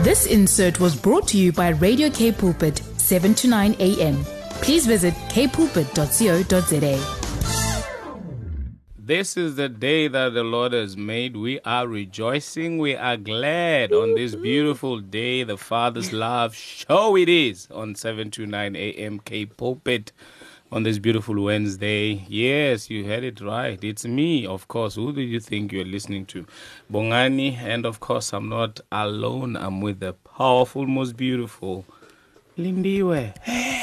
This insert was brought to you by Radio K Pulpit, 7 to 9 a.m. Please visit kpulpit.co.za. This is the day that the Lord has made. We are rejoicing. We are glad on this beautiful day. The Father's Love Show it is on 7 to 9 a.m. K Pulpit on this beautiful Wednesday. Yes, you heard it right. It's me, of course. Who do you think you're listening to? Bongani. And of course, I'm not alone. I'm with the powerful, most beautiful Lindiwe.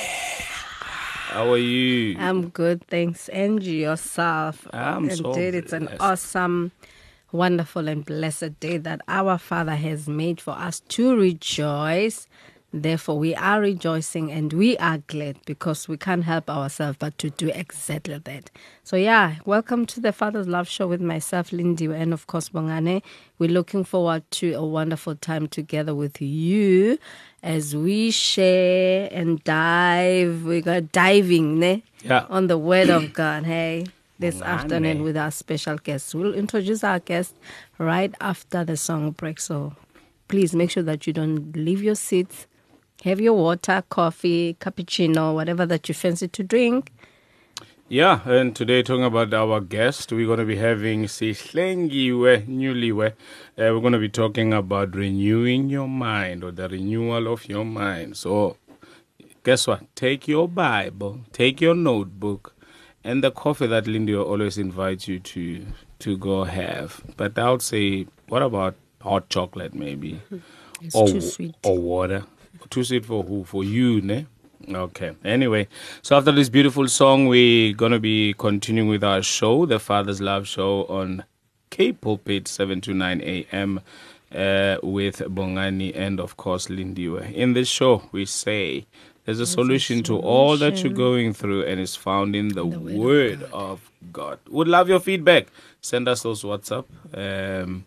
How are you? I'm good, thanks. Angie, yourself. Indeed, it's an awesome, wonderful, and blessed day that our Father has made for us to rejoice. Therefore, we are rejoicing and we are glad because we can't help ourselves but to do exactly that. So, welcome to the Father's Love Show with myself, Lindy, and of course, Bongane. We're looking forward to a wonderful time together with you as we share and dive. We got diving on the Word of God, this afternoon with our special guest. We'll introduce our guest right after the song break. So please make sure that you don't leave your seats. Have your water, coffee, cappuccino, whatever that you fancy to drink. Yeah, and today talking about our guest, we're going to be having Sihlengiwe Newliwe. We're going to be talking about renewing your mind or the renewal of your mind. So guess what? Take your Bible, take your notebook, and the coffee that Lindy always invites you to go have. But I would say, what about hot chocolate maybe? It's too sweet. Or water. Too sweet for who? For you, ne? Okay. Anyway, so after this beautiful song, we're going to be continuing with our show, the Father's Love Show on K Pulpit, 7 to 9 a.m. With Bongani and, of course, Lindiwe. In this show, we say there's a solution to all that you're going through, and it's found in the Word of God. Would love your feedback. Send us those WhatsApp on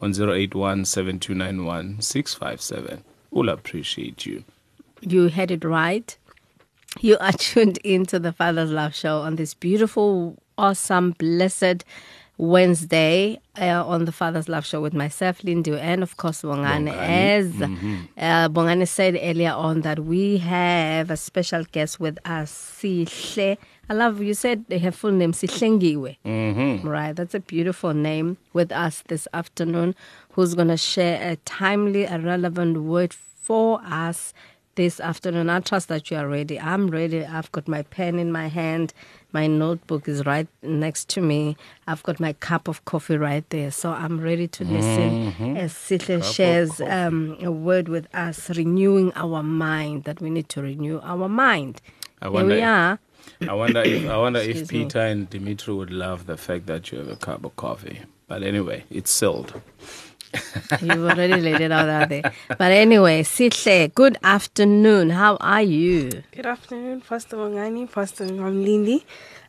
081-7291-657. We'll appreciate you. You had it right. You are tuned into the Father's Love Show on this beautiful, awesome, blessed Wednesday on the Father's Love Show with myself, Lindy, and of course, Bongane. As Bongane said earlier on that we have a special guest with us, Sihle. I love you said her full name, Sihlengiwe. Right, that's a beautiful name with us this afternoon, who's going to share a timely, a relevant word for us this afternoon. I trust that you are ready. I'm ready. I've got my pen in my hand. My notebook is right next to me. I've got my cup of coffee right there. So I'm ready to listen as Sihle shares a word with us, renewing our mind, that we need to renew our mind. Here we are. I wonder if Peter and Dimitri would love the fact that you have a cup of coffee. But anyway, it's sealed. You've already laid it out there. But anyway, Sihle, good afternoon. How are you? Good afternoon, Pastor Bongani, Pastor Lindy.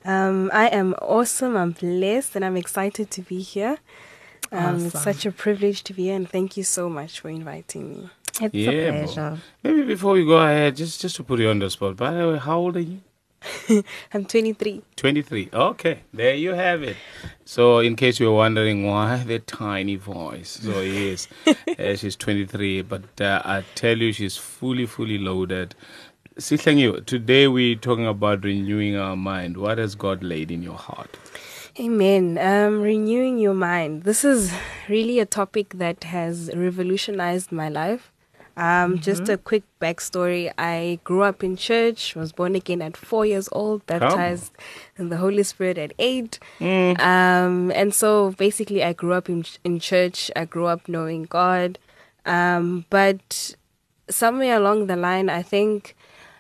I am awesome. I'm blessed and I'm excited to be here. Awesome. It's such a privilege to be here, and thank you so much for inviting me. It's a pleasure. Maybe before we go ahead, just to put you on the spot, by the way, how old are you? I'm 23. 23. Okay, there you have it. So in case you're wondering why the tiny voice. So yes, she's 23, but I tell you, she's fully loaded. Sihlengiwe, today we're talking about renewing our mind. What has God laid in your heart? Amen. Renewing your mind. This is really a topic that has revolutionized my life. Just a quick backstory. I grew up in church, was born again at 4 years old, baptized in the Holy Spirit at 8. And so basically I grew up in church. I grew up knowing God. But somewhere along the line, I think,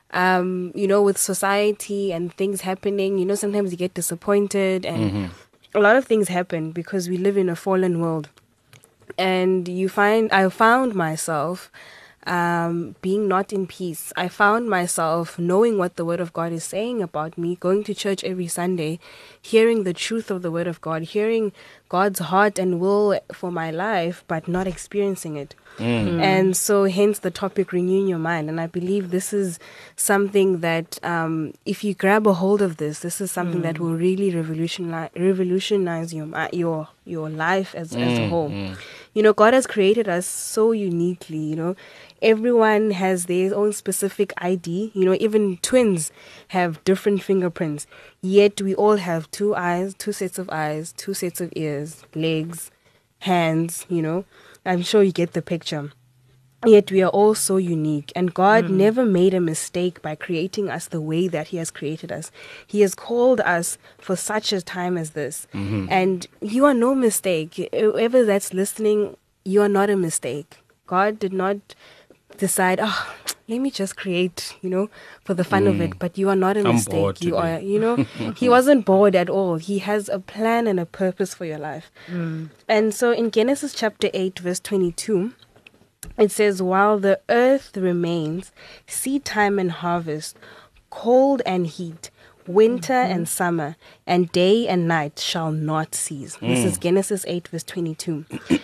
with society and things happening, sometimes you get disappointed and a lot of things happen because we live in a fallen world. And I found myself being not in peace. I found myself knowing what the Word of God is saying about me, going to church every Sunday, hearing the truth of the Word of God, hearing God's heart and will for my life, but not experiencing it. And so hence the topic, renewing your mind. And I believe this is something that if you grab a hold of this is something that will really revolutionize your life as a whole. God has created us so uniquely. Everyone has their own specific ID. Even twins have different fingerprints. Yet we all have 2 eyes, 2 sets of eyes, 2 sets of ears, legs, hands. I'm sure you get the picture. Yet we are all so unique, and God never made a mistake by creating us the way that He has created us. He has called us for such a time as this. And you are no mistake. Whoever that's listening, you are not a mistake. God did not decide, let me just create, for the fun of it. But you are not a I'm mistake. bored You are, today. He wasn't bored at all. He has a plan and a purpose for your life. And so in Genesis chapter 8, verse 22, it says, while the earth remains, seed time and harvest, cold and heat, winter and summer, and day and night shall not cease. This is Genesis 8, verse 22.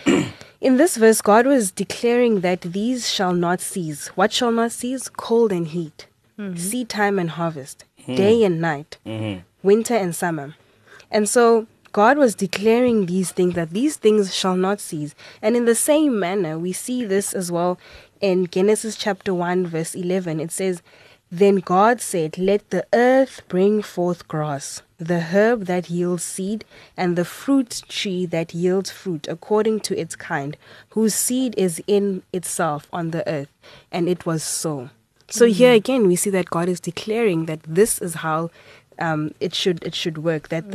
In this verse, God was declaring that these shall not cease. What shall not cease? Cold and heat, seed time and harvest, day and night, winter and summer. And so God was declaring these things, that these things shall not cease. And in the same manner, we see this as well in Genesis chapter 1, verse 11. It says, then God said, let the earth bring forth grass, the herb that yields seed, and the fruit tree that yields fruit according to its kind, whose seed is in itself on the earth. And it was so. So here again, we see that God is declaring that this is how it should work, that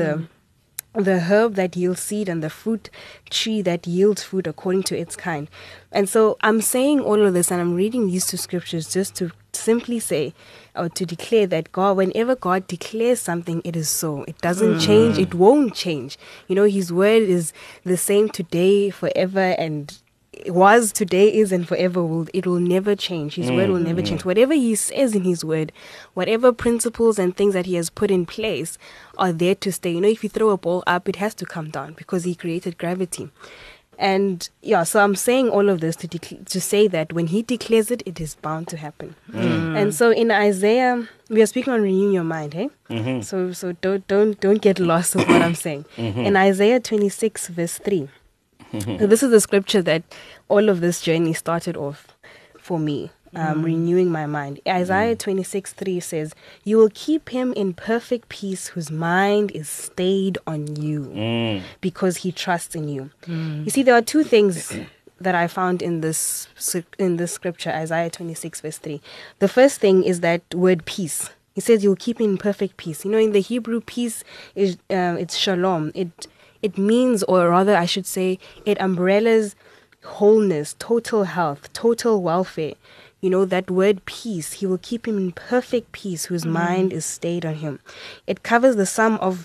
the herb that yields seed and the fruit tree that yields fruit according to its kind. And so I'm saying all of this, and I'm reading these 2 scriptures just to simply say, or to declare that God, whenever God declares something, it is so. It doesn't change. It won't change. His word is the same today, forever, and it was, today, is, and forever will. It will never change. His word will never change. Whatever He says in His word, whatever principles and things that He has put in place are there to stay. If you throw a ball up, it has to come down because He created gravity. And so I'm saying all of this to say that when He declares it, it is bound to happen. And so in Isaiah, we are speaking on renewing your mind, hey? So don't get lost with what I'm saying. In Isaiah 26, verse 3. So this is the scripture that all of this journey started off for me, renewing my mind. Isaiah 26:3 says, you will keep him in perfect peace whose mind is stayed on you because he trusts in you. You see, there are 2 things that I found in this scripture, Isaiah 26, verse 3. The first thing is that word peace. He says you'll keep him in perfect peace. In the Hebrew, peace is it's shalom. It means, or rather I should say, it umbrellas wholeness, total health, total welfare. That word peace, He will keep him in perfect peace whose mind is stayed on Him. It covers the sum of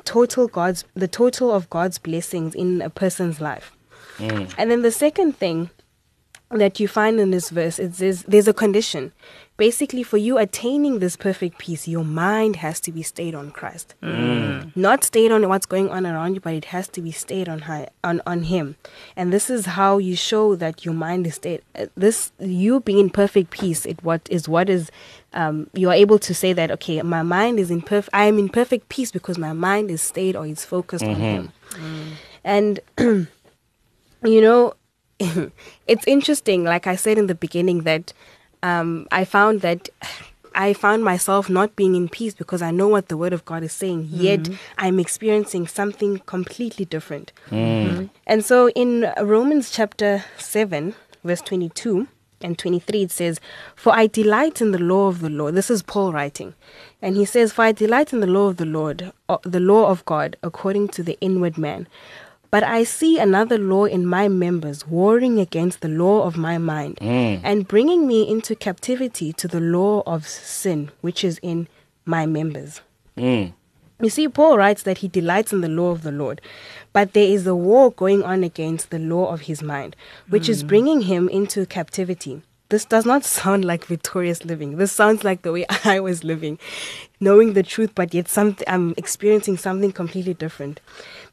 the total of God's blessings in a person's life. And then the second thing that you find in this verse, it says there's a condition. Basically, for you attaining this perfect peace, your mind has to be stayed on Christ. Not stayed on what's going on around you, but it has to be stayed on Him. And this is how you show that your mind is stayed. You being in perfect peace, you are able to say that, okay, my mind is I am in perfect peace because my mind is stayed or is focused on Him. And it's interesting, like I said in the beginning, that I found myself not being in peace because I know what the Word of God is saying, yet I'm experiencing something completely different. And so in Romans chapter 7, verse 22 and 23, it says, for I delight in the law of the Lord. This is Paul writing. And he says, for I delight in the law of the Lord, the law of God, according to the inward man. But I see another law in my members, warring against the law of my mind, and bringing me into captivity to the law of sin, which is in my members. You see, Paul writes that he delights in the law of the Lord, but there is a war going on against the law of his mind, which is bringing him into captivity. This does not sound like victorious living. This sounds like the way I was living, knowing the truth, but yet I'm experiencing something completely different.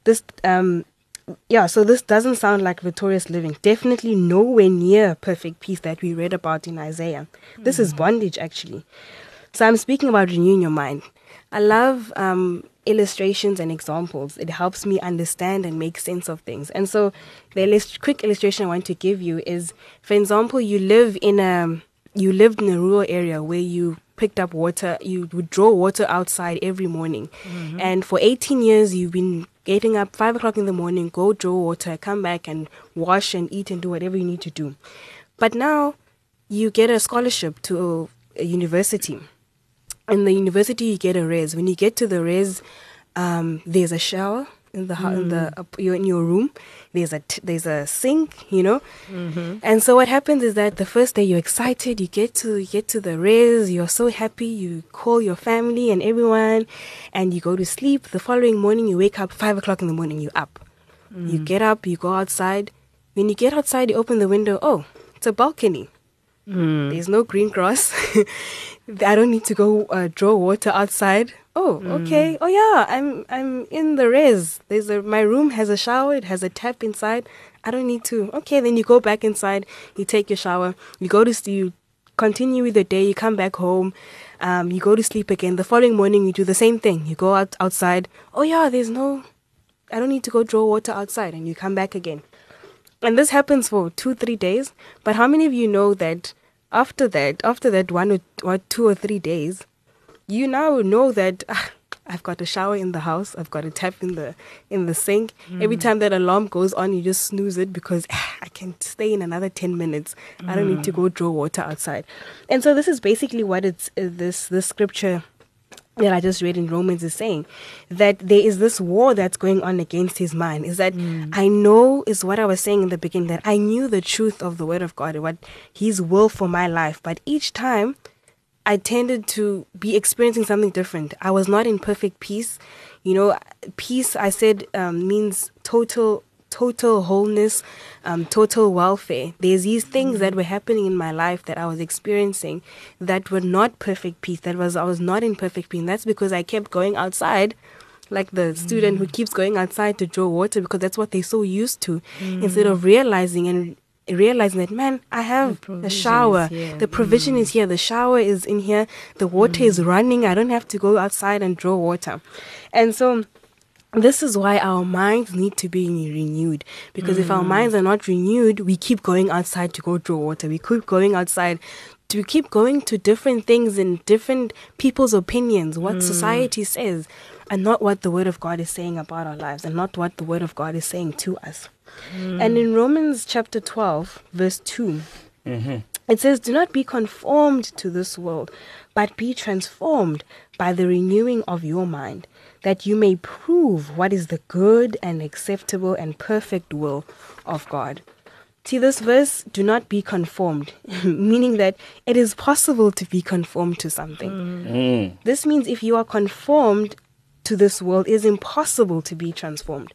So this doesn't sound like victorious living. Definitely nowhere near perfect peace that we read about in Isaiah. This is bondage, actually. So I'm speaking about renewing your mind. I love illustrations and examples. It helps me understand and make sense of things. And so the quick illustration I want to give you is, for example, you lived in a rural area where you picked up water. You would draw water outside every morning. And for 18 years, you've been getting up 5 o'clock in the morning, go draw water, come back and wash and eat and do whatever you need to do. But now you get a scholarship to a university. In the university, you get a res. When you get to the res, there's a shower you're in your room. There's a sink, And so what happens is that the first day you're excited. You get to the res. You're so happy. You call your family and everyone, and you go to sleep. The following morning, you wake up 5 o'clock in the morning. You're up. You get up. You go outside. When you get outside, you open the window. Oh, it's a balcony. There's no green grass. I don't need to go draw water outside. Oh, okay. Oh yeah, I'm in the res. My room has a shower. It has a tap inside. I don't need to. Okay, then you go back inside. You take your shower. You go to sleep. You continue with the day. You come back home. You go to sleep again. The following morning, you do the same thing. You go outside. Oh yeah, I don't need to go draw water outside. And you come back again. And this happens for 2-3 days. But how many of you know that after that 1 or 2 or 3 days, you now know that I've got a shower in the house, I've got a tap in the sink. Every time that alarm goes on, you just snooze it because I can stay in another 10 minutes. I don't need to go draw water outside. And so this is basically what this scripture that I just read in Romans is saying, that there is this war that's going on against his mind. Is that I know, is what I was saying in the beginning, that I knew the truth of the word of God, what his will for my life. But each time I tended to be experiencing something different. I was not in perfect peace. Peace, I said, means total wholeness, total welfare. There's these things that were happening in my life that I was experiencing that were not perfect peace. I was not in perfect peace. And that's because I kept going outside, like the student who keeps going outside to draw water because that's what they're so used to, instead of realizing that, man, I have a shower. The provision is here. The shower is in here. The water is running. I don't have to go outside and draw water. And so this is why our minds need to be renewed. Because if our minds are not renewed, we keep going outside to go draw water. We keep going outside to keep going to different things and different people's opinions, what society says, and not what the Word of God is saying about our lives, and not what the Word of God is saying to us. And in Romans chapter 12, verse 2, it says, "Do not be conformed to this world, but be transformed by the renewing of your mind, that you may prove what is the good and acceptable and perfect will of God." See, this verse, do not be conformed, meaning that it is possible to be conformed to something. This means if you are conformed to this world, it is impossible to be transformed.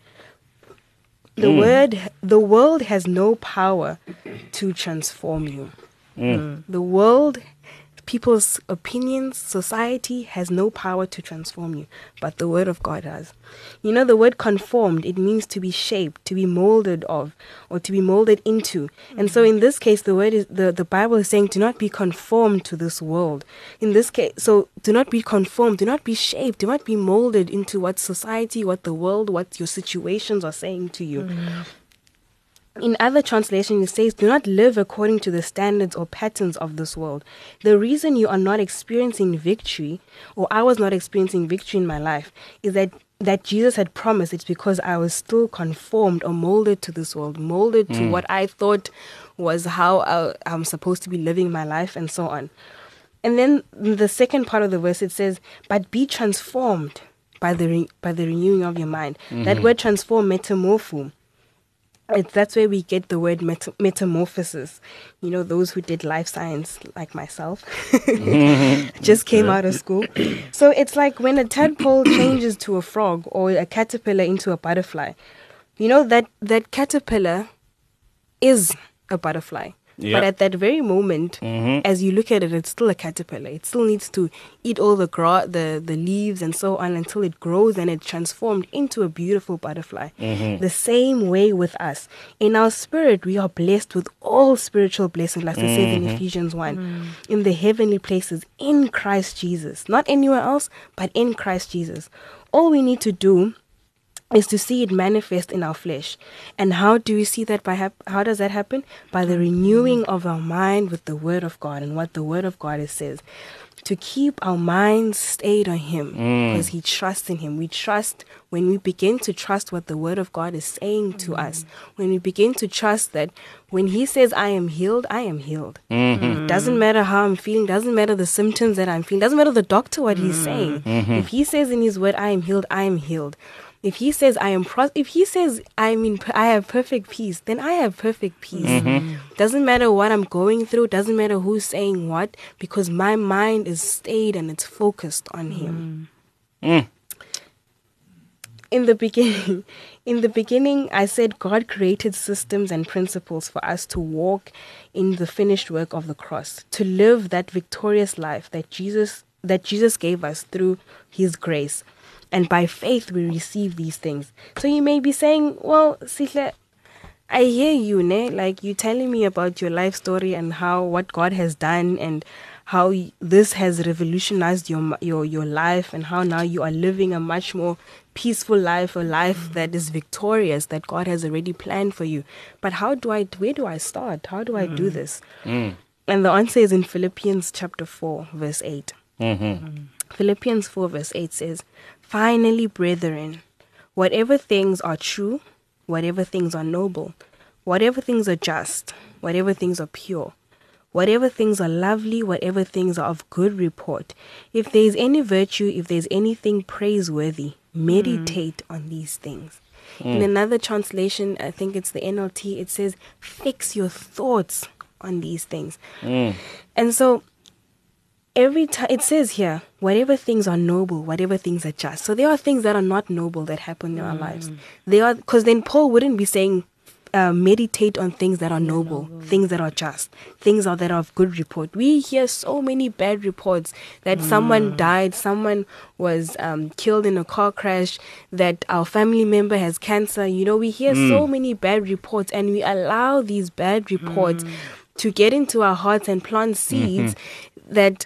The world has no power to transform you. The world, people's opinions, society has no power to transform you, but the Word of God has. The word conformed, it means to be shaped, to be molded of, or to be molded into. And so in this case, the Bible is saying, do not be conformed to this world. In this case, so do not be conformed, do not be shaped, do not be molded into what society, what the world, what your situations are saying to you. In other translations, it says, do not live according to the standards or patterns of this world. The reason you are not experiencing victory, or I was not experiencing victory in my life, is that Jesus had promised. It's because I was still conformed or molded to this world, molded to what I thought was how I'm supposed to be living my life, and so on. And then the second part of the verse, it says, but be transformed by the renewing of your mind. That word transform, metamorpho. That's where we get the word metamorphosis. Those who did life science, like myself, just came out of school. So it's like when a tadpole changes to a frog, or a caterpillar into a butterfly. That caterpillar is a butterfly. Yeah. But at that very moment, as you look at it, it's still a caterpillar. It still needs to eat all the the leaves and so on until it grows and it's transformed into a beautiful butterfly. The same way with us. In our spirit, we are blessed with all spiritual blessings, like it says in Ephesians 1, in the heavenly places, in Christ Jesus. Not anywhere else, but in Christ Jesus. All we need to do is to see it manifest in our flesh. And how do we see that? How does that happen? By the renewing of our mind with the Word of God and what the Word of God says. To keep our minds stayed on Him, because He trusts in Him. We trust when we begin to trust what the Word of God is saying to us. When we begin to trust that when He says, I am healed, I am healed. It doesn't matter how I'm feeling, doesn't matter the symptoms that I'm feeling, doesn't matter the doctor what he's saying. If He says in His Word, I am healed, I am healed. If He says if He says I have perfect peace, then I have perfect peace. Doesn't matter what I'm going through, doesn't matter who's saying what, because my mind is stayed and it's focused on Him. In the beginning, I said God created systems and principles for us to walk in the finished work of the cross, to live that victorious life that Jesus gave us through His grace. And by faith, we receive these things. So you may be saying, well, Sihle, I hear you, ne? Like you telling me about your life story and what God has done and how this has revolutionized your life and how now you are living a much more peaceful life, a life that is victorious, that God has already planned for you. But where do I start? How do I do this? And the answer is in Philippians chapter 4, verse 8. Philippians 4, verse 8 says, finally, brethren, whatever things are true, whatever things are noble, whatever things are just, whatever things are pure, whatever things are lovely, whatever things are of good report, if there is any virtue, if there is anything praiseworthy, meditate on these things. In another translation, I think it's the NLT, it says, fix your thoughts on these things. And so, every time it says here, whatever things are noble, whatever things are just. So there are things that are not noble that happen in our lives. They are, because then Paul wouldn't be saying, meditate on things that are noble, things that are just, things that are of good report. We hear so many bad reports that someone died, someone was killed in a car crash, that our family member has cancer. You know, we hear so many bad reports, and we allow these bad reports to get into our hearts and plant seeds that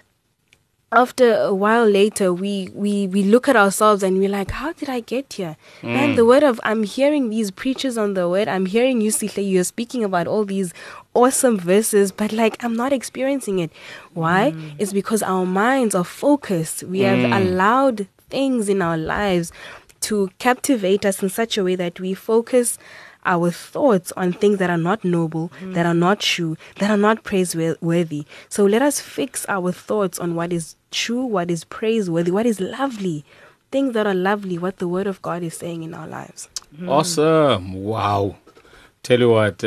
after a while later, we look at ourselves and we're like, how did I get here? Man, I'm hearing these preachers on the Word. I'm hearing you, Sihle, you're speaking about all these awesome verses, but like, I'm not experiencing it. Why? It's because our minds are focused. We have allowed things in our lives to captivate us in such a way that we focus our thoughts on things that are not noble, that are not true, that are not praiseworthy. So let us fix our thoughts on what is true, what is praiseworthy, what is lovely, things that are lovely, what the Word of God is saying in our lives. Awesome. Wow. Tell you what,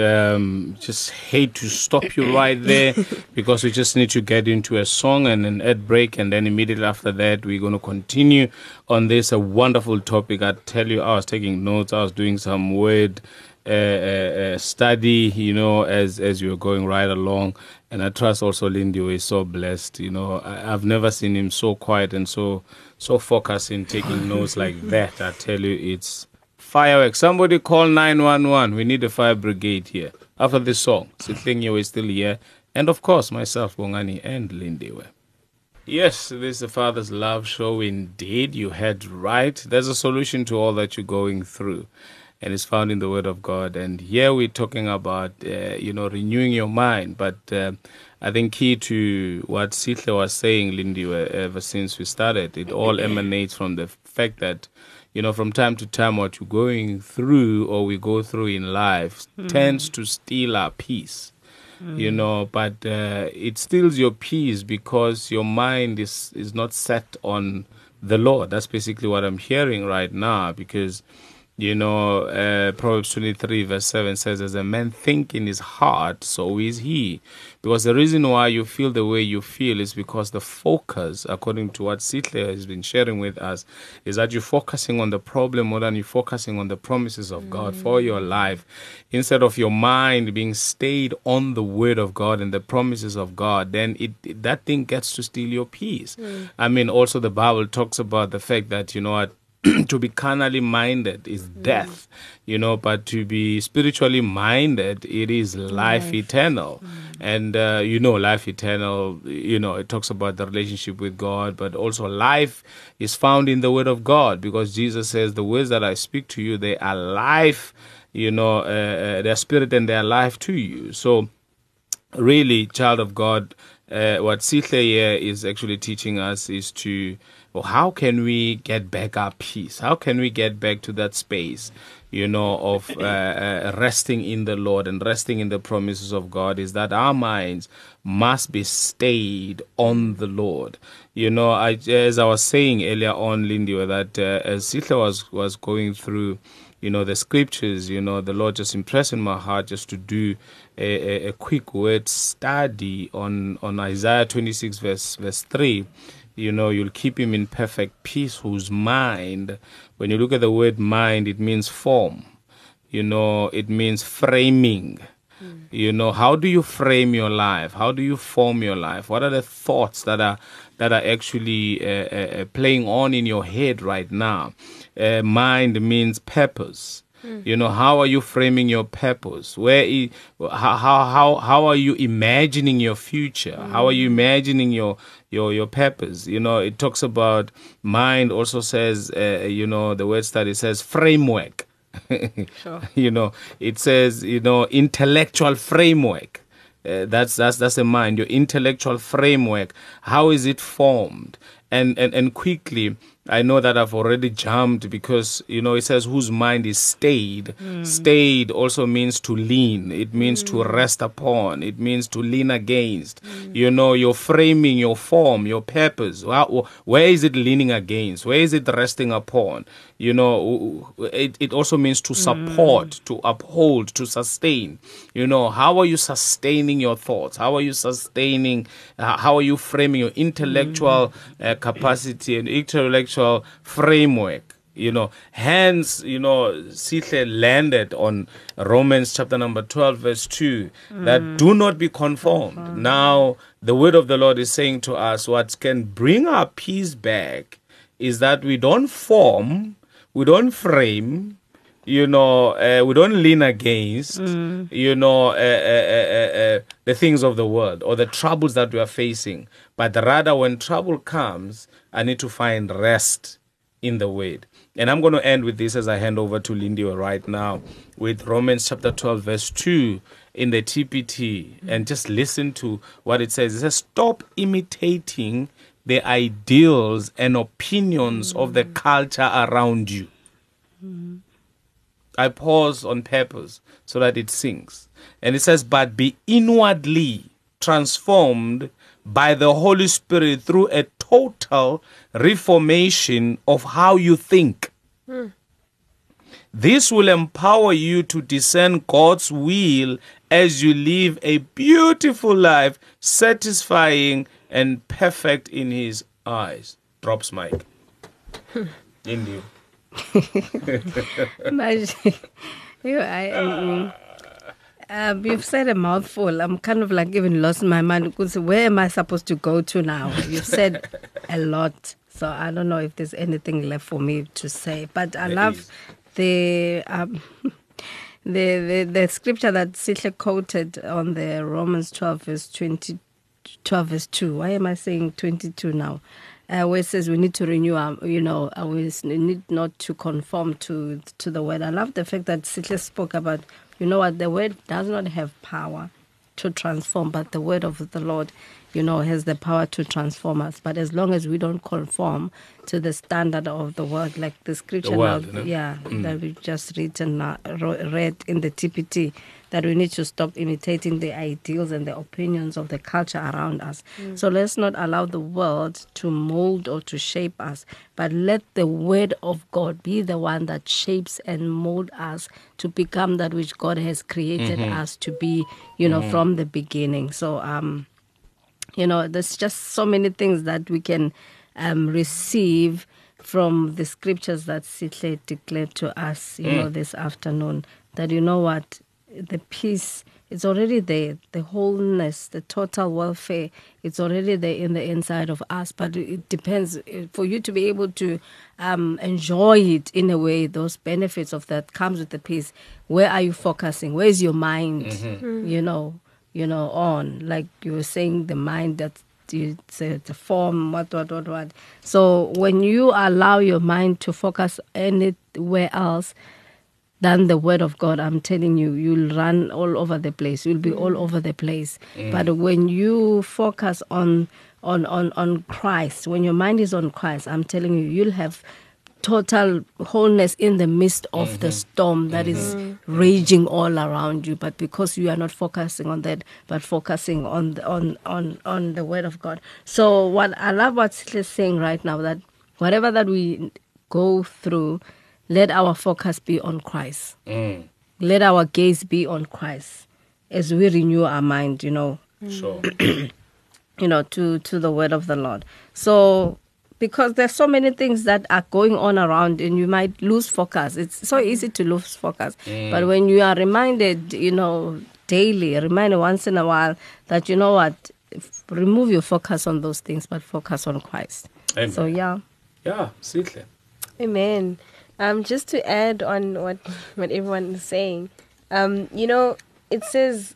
just hate to stop you right there because we just need to get into a song and an ad break, and then immediately after that we're going to continue on this wonderful topic. I tell you, I was taking notes, I was doing some word study, you know, as you were going right along, and I trust also Lindy is so blessed. You know, I've never seen him so quiet and so focused in taking notes like that. I tell you, it's fireworks. Somebody call 911. We need a fire brigade here. After this song, Sitlinyo is still here. And of course, myself, Bongani, and Lindiwe. Yes, this is the Father's Love Show indeed. You heard right. There's a solution to all that you're going through. And it's found in the Word of God. And here we're talking about, renewing your mind. But I think key to what Sihle was saying, Lindiwe, ever since we started, it all emanates from the fact that, you know, from time to time, what you're going through or we go through in life tends to steal our peace, you know, but it steals your peace because your mind is not set on the Lord. That's basically what I'm hearing right now, because Proverbs 23 verse 7 says, as a man think in his heart, so is he. Because the reason why you feel the way you feel is because the focus, according to what Sihle has been sharing with us, is that you're focusing on the problem more than you're focusing on the promises of God for your life. Instead of your mind being stayed on the word of God and the promises of God, then that thing gets to steal your peace. I mean, also the Bible talks about the fact that, to be carnally minded is death, but to be spiritually minded, it is life eternal. And, life eternal, it talks about the relationship with God, but also life is found in the word of God, because Jesus says, the words that I speak to you, they are life, their spirit and their life to you. So really, child of God, what Sihle here is actually teaching us is how can we get back our peace? How can we get back to that space, of resting in the Lord and resting in the promises of God, is that our minds must be stayed on the Lord. As I was saying earlier on, Lindy, that as Sihle was going through, the scriptures, the Lord just impressed in my heart just to do a quick word study on Isaiah 26 verse 3. You'll keep him in perfect peace whose mind, when you look at the word mind, it means form. It means framing. How do you frame your life? How do you form your life? What are the thoughts that are actually playing on in your head right now? Mind means purpose. How are you framing your purpose? How are you imagining your future? How are you imagining your purpose? It talks about mind. Also says, the word study says framework. Sure. It says, intellectual framework. That's a mind. Your intellectual framework. How is it formed? And quickly, I know that I've already jumped because, it says whose mind is stayed. Stayed also means to lean. It means to rest upon. It means to lean against. Your framing, your form, your purpose. Where is it leaning against? Where is it resting upon? It also means to support, to uphold, to sustain. How are you sustaining your thoughts? How are you sustaining, how are you framing your intellectual capacity and intellectual framework? Hence, Sihle landed on Romans chapter number 12 verse 2, that do not be conformed. Now, the word of the Lord is saying to us, what can bring our peace back is that we don't form, we don't frame, we don't lean against, the things of the world or the troubles that we are facing. But rather, when trouble comes, I need to find rest in the word. And I'm going to end with this as I hand over to Lindy right now with Romans chapter 12 verse 2 in the TPT, and just listen to what it says. It says, stop imitating the ideals and opinions of the culture around you. I pause on purpose so that it sinks. And it says, but be inwardly transformed by the Holy Spirit through a total reformation of how you think. This will empower you to discern God's will as you live a beautiful life, satisfying and perfect in His eyes. Drops mic. India. You've said a mouthful. I'm kind of like even lost my mind because where am I supposed to go to now? You've said a lot, so I don't know if there's anything left for me to say. But I love the scripture that Sihle quoted on the Romans 12 verse 12 verse 2. Why am I saying 22 now? Where it says we need to renew our, we need not to conform to the word. I love the fact that Sihle spoke about, the word does not have power to transform, but the word of the Lord has the power to transform us. But as long as we don't conform to the standard of the world, like the scripture that we just read in the TPT, that we need to stop imitating the ideals and the opinions of the culture around us. So let's not allow the world to mold or to shape us, but let the word of God be the one that shapes and mold us to become that which God has created us to be, from the beginning. So, there's just so many things that we can receive from the scriptures that Sihle declared to us, this afternoon, that the peace, it's already there. The wholeness, the total welfare, it's already there in the inside of us. But it depends for you to be able to enjoy it in a way. Those benefits of that comes with the peace. Where are you focusing? Where is your mind? On, like you were saying, the mind that it's a form. What. So when you allow your mind to focus anywhere else than the word of God, I'm telling you, you'll run all over the place. You'll be all over the place. But when you focus on Christ, when your mind is on Christ, I'm telling you, you'll have total wholeness in the midst of the storm that is raging all around you. But because you are not focusing on that, but focusing on the word of God. So what I love what Sihle is saying right now, that whatever that we go through, let our focus be on Christ. Let our gaze be on Christ as we renew our mind, Sure. to the word of the Lord. So, because there's so many things that are going on around and you might lose focus. It's so easy to lose focus. But when you are reminded, daily, reminded once in a while that, remove your focus on those things, but focus on Christ. Amen. So, yeah. Yeah, Sihle. Amen. Just to add on what everyone is saying, it says,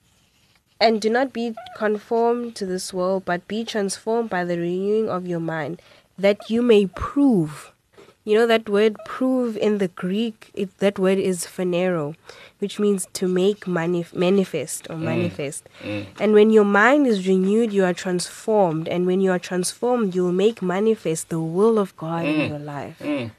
and do not be conformed to this world, but be transformed by the renewing of your mind, that you may prove. That word prove in the Greek, that word is phanero, which means to make manifest or manifest. And when your mind is renewed, you are transformed. And when you are transformed, you will make manifest the will of God in your life.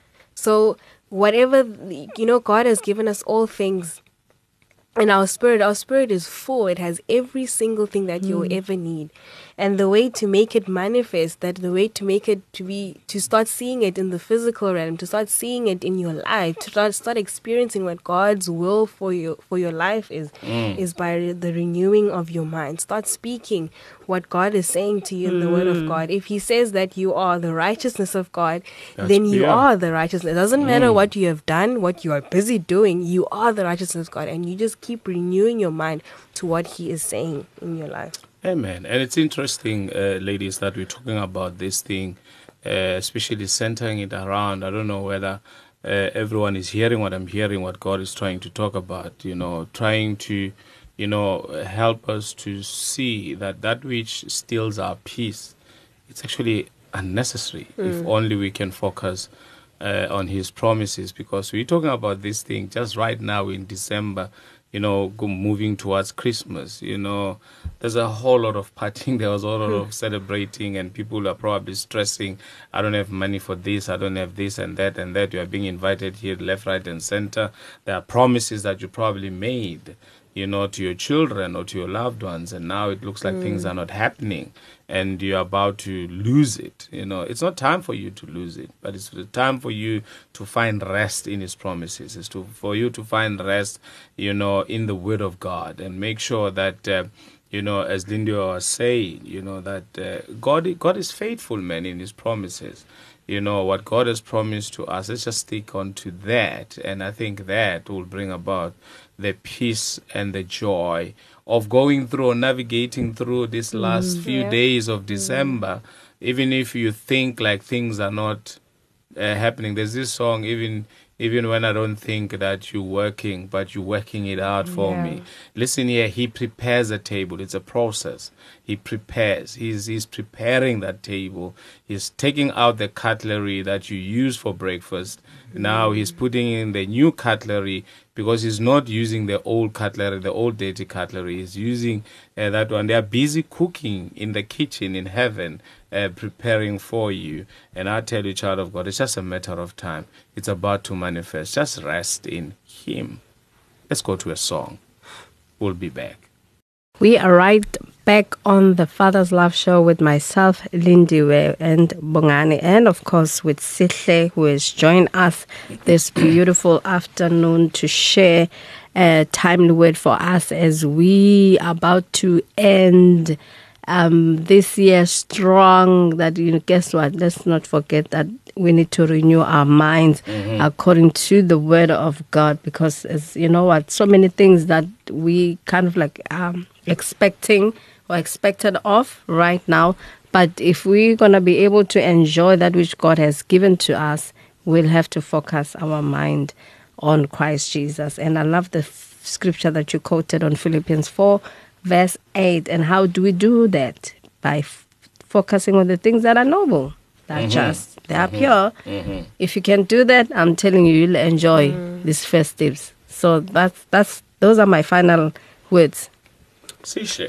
So whatever, God has given us all things. And our spirit is full. It has every single thing that you'll ever need. And the way to make it manifest, the way to make it to start seeing it in the physical realm, to start seeing it in your life, to start experiencing what God's will for your life is by the renewing of your mind. Start speaking what God is saying to you in the Word of God. If He says that you are the righteousness of God, then you are the righteousness. It doesn't matter what you have done, what you are busy doing, you are the righteousness of God. And you just keep renewing your mind to what He is saying in your life. Amen. And it's interesting, ladies, that we're talking about this thing, especially centering it around. I don't know whether everyone is hearing what I'm hearing, what God is trying to talk about, trying to, help us to see that which steals our peace, it's actually unnecessary if only we can focus on His promises, because we're talking about this thing just right now in December, moving towards Christmas, there's a whole lot of partying, there was a lot of celebrating, and people are probably stressing, I don't have money for this, I don't have this and that, you are being invited here left, right, and center. There are promises that you probably made, to your children or to your loved ones, and now it looks like things are not happening, and you're about to lose it. It's not time for you to lose it, but it's the time for you to find rest in His promises. It's for you to find rest, in the Word of God, and make sure that, as Linda was saying, that God is faithful, man, in His promises. What God has promised to us, let's just stick on to that, and I think that will bring about the peace and the joy of going through or navigating through this last few days of December, even if you think like things are not happening. There's this song, even when I don't think that you're working, but you're working it out for me. Listen here, He prepares a table. It's a process. He prepares. He's preparing that table. He's taking out the cutlery that you use for breakfast, Now he's putting in the new cutlery, because he's not using the old cutlery, the old dirty cutlery. He's using that one. They are busy cooking in the kitchen in heaven, preparing for you. And I tell you, child of God, it's just a matter of time. It's about to manifest. Just rest in him. Let's go to a song. We'll be back. We are right back on the Father's Love Show with myself, Lindiwe, and Bongani, and of course with Sihle, who has joined us this beautiful afternoon to share a timely word for us as we are about to end this year strong. That, guess what? Let's not forget that we need to renew our minds according to the word of God, because as you know what, so many things that we kind of like expecting or expected of right now, but if we're going to be able to enjoy that which God has given to us, we'll have to focus our mind on Christ Jesus. And I love the scripture that you quoted on Philippians 4 verse 8. And how do we do that? By focusing on the things that are noble, that are just, they are pure. If you can do that, I'm telling you, you'll enjoy these festives. So those are my final words. Sishe.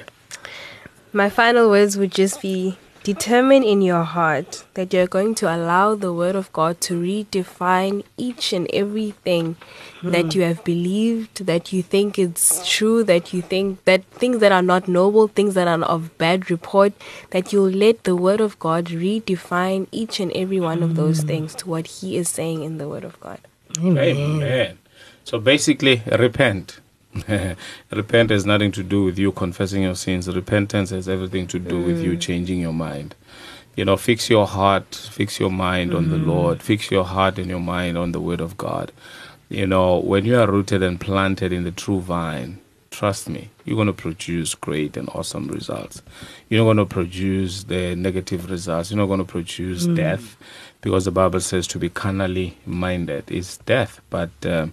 My final words would just be, determine in your heart that you're going to allow the word of God to redefine each and everything that you have believed, that you think it's true, that you think that things that are not noble, things that are of bad report, that you'll let the word of God redefine each and every one of those things to what he is saying in the word of God. Amen. So basically, repent. Repent has nothing to do with you confessing your sins. Repentance has everything to do with you changing your mind. Fix your heart, fix your mind on the Lord, fix your heart and your mind on the word of God. When you are rooted and planted in the true vine, trust me, you're going to produce great and awesome results. You're not going to produce the negative results. You're not going to produce death, because the Bible says to be carnally minded is death, but to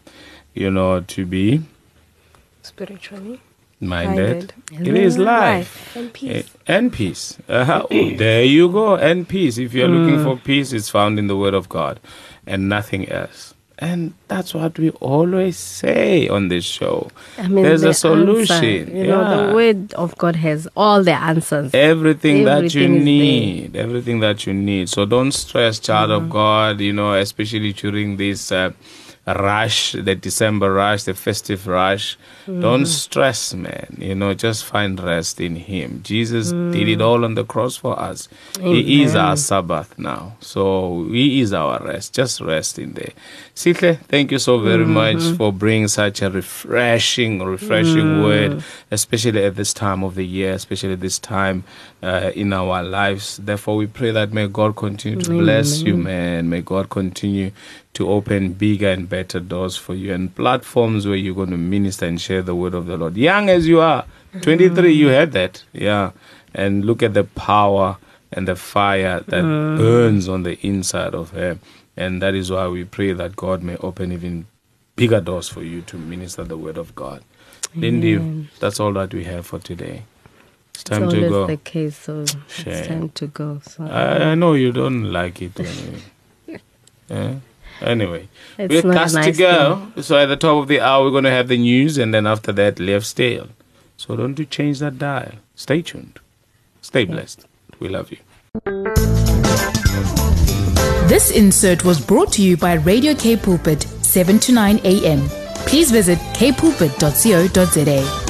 be spiritually minded, it is life and peace. And peace. There you go, and peace. If you're looking for peace, it's found in the word of God and nothing else. And that's what we always say on this show. There's a solution. Answer, the word of God has all the answers. Everything that you need. Everything that you need. So don't stress, child of God, especially during this rush, the December rush, the festive rush. Don't stress, man. Just find rest in him. Jesus did it all on the cross for us. Amen. He is our Sabbath now. So he is our rest. Just rest in there. Sihle, thank you so very much for bringing such a refreshing word, especially at this time of the year, especially this time in our lives. Therefore, we pray that may God continue to bless you, man. May God continue to open bigger and better doors for you and platforms where you're going to minister and share the word of the Lord. Young as you are, 23, you had that. Yeah. And look at the power and the fire that burns on the inside of her. And that is why we pray that God may open even bigger doors for you to minister the word of God. Lindy, that's all that we have for today. It's time to go. It's the case, so it's time to go. So. I know you don't like it anyway. Yeah? Anyway, it's we're cast to go. So at the top of the hour, we're going to have the news, and then after that, Left Stale. So don't you change that dial. Stay tuned. Stay blessed. We love you. This insert was brought to you by Radio K Pulpit, 7 to 9 a.m. Please visit kpulpit.co.za.